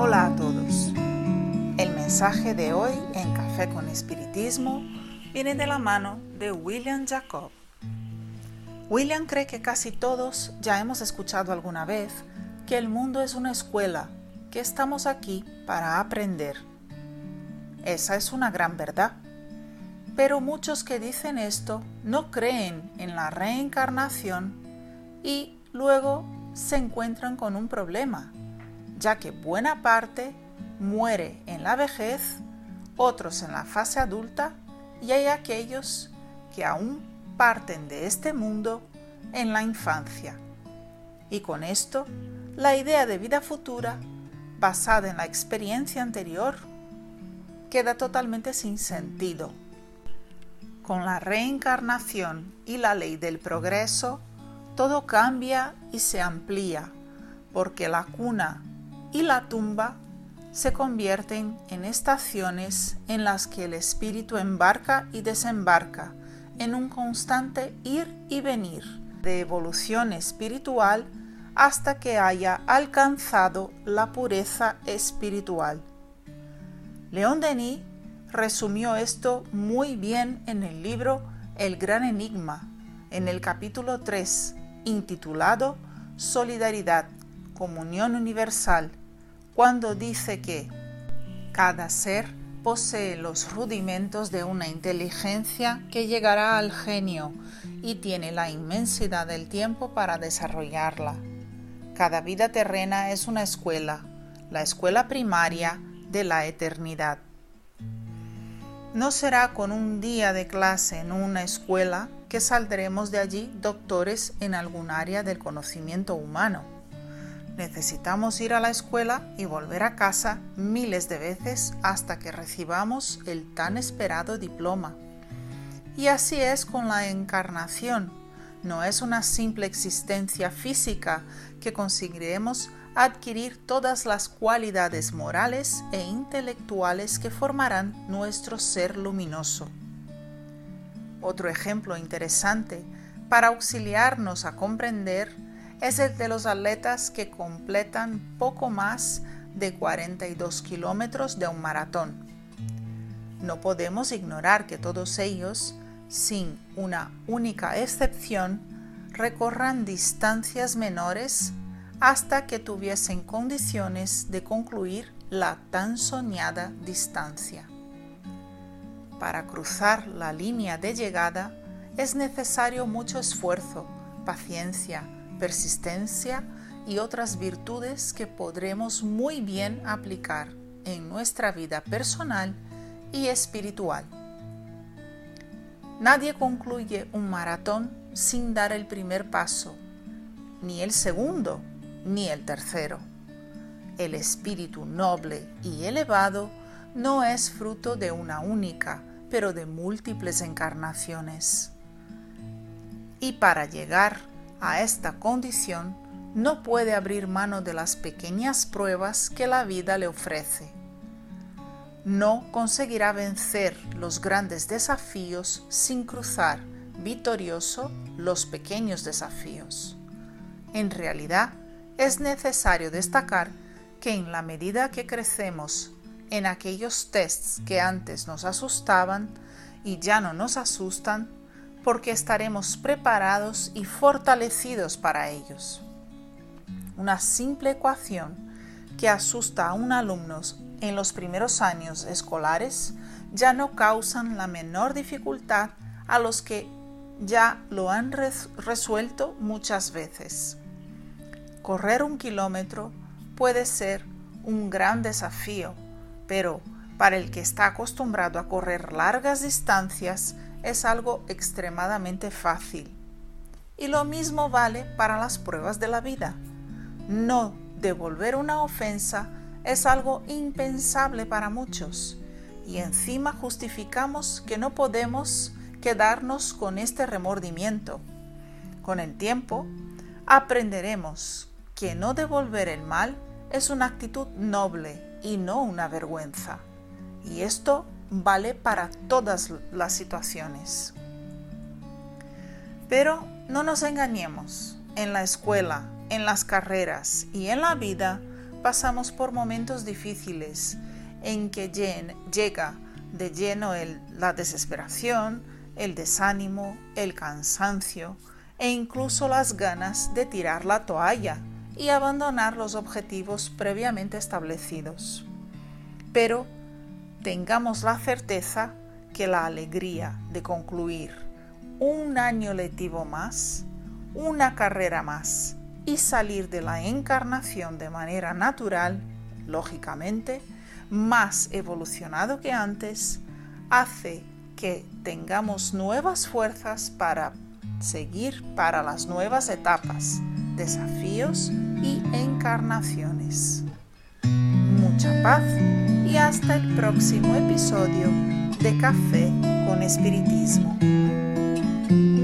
Hola a todos. El mensaje de hoy en Café con Espiritismo viene de la mano de William Jacob. William cree que casi todos ya hemos escuchado alguna vez que el mundo es una escuela, que estamos aquí para aprender. Esa es una gran verdad. Pero muchos que dicen esto no creen en la reencarnación y luego se encuentran con un problema, ya que buena parte muere en la vejez, otros en la fase adulta y hay aquellos que aún parten de este mundo en la infancia. Y con esto, la idea de vida futura, basada en la experiencia anterior, queda totalmente sin sentido. Con la reencarnación y la ley del progreso, todo cambia y se amplía, porque la cuna y la tumba se convierten en estaciones en las que el espíritu embarca y desembarca en un constante ir y venir de evolución espiritual hasta que haya alcanzado la pureza espiritual. León Denis resumió esto muy bien en el libro El Gran Enigma, en el capítulo 3, intitulado Solidaridad, Comunión Universal, cuando dice que cada ser posee los rudimentos de una inteligencia que llegará al genio y tiene la inmensidad del tiempo para desarrollarla. Cada vida terrena es una escuela, la escuela primaria de la eternidad. No será con un día de clase en una escuela que saldremos de allí doctores en algún área del conocimiento humano. Necesitamos ir a la escuela y volver a casa miles de veces hasta que recibamos el tan esperado diploma. Y así es con la encarnación. No es una simple existencia física que conseguiremos adquirir todas las cualidades morales e intelectuales que formarán nuestro ser luminoso. Otro ejemplo interesante para auxiliarnos a comprender es el de los atletas que completan poco más de 42 kilómetros de un maratón. No podemos ignorar que todos ellos, sin una única excepción, recorran distancias menores hasta que tuviesen condiciones de concluir la tan soñada distancia. Para cruzar la línea de llegada es necesario mucho esfuerzo, paciencia, persistencia y otras virtudes que podremos muy bien aplicar en nuestra vida personal y espiritual. Nadie concluye un maratón sin dar el primer paso, ni el segundo, ni el tercero. El espíritu noble y elevado no es fruto de una única, pero de múltiples encarnaciones. Y para llegar a esta condición, no puede abrir mano de las pequeñas pruebas que la vida le ofrece. No conseguirá vencer los grandes desafíos sin cruzar victorioso los pequeños desafíos. En realidad, es necesario destacar que en la medida que crecemos en aquellos tests que antes nos asustaban y ya no nos asustan, porque estaremos preparados y fortalecidos para ellos. Una simple ecuación que asusta a un alumno en los primeros años escolares ya no causan la menor dificultad a los que ya lo han resuelto muchas veces. Correr 1 kilómetro puede ser un gran desafío, pero para el que está acostumbrado a correr largas distancias es algo extremadamente fácil. Y lo mismo vale para las pruebas de la vida. No devolver una ofensa es algo impensable para muchos, y encima justificamos que no podemos quedarnos con este remordimiento. Con el tiempo, aprenderemos que no devolver el mal es una actitud noble y no una vergüenza. Y esto vale para todas las situaciones. Pero no nos engañemos, en la escuela, en las carreras y en la vida pasamos por momentos difíciles en que llega de lleno la desesperación, el desánimo, el cansancio e incluso las ganas de tirar la toalla y abandonar los objetivos previamente establecidos. Pero tengamos la certeza que la alegría de concluir un año lectivo más, una carrera más y salir de la encarnación de manera natural, lógicamente, más evolucionado que antes, hace que tengamos nuevas fuerzas para seguir para las nuevas etapas, desafíos y encarnaciones. Mucha paz y hasta el próximo episodio de Café con Espiritismo.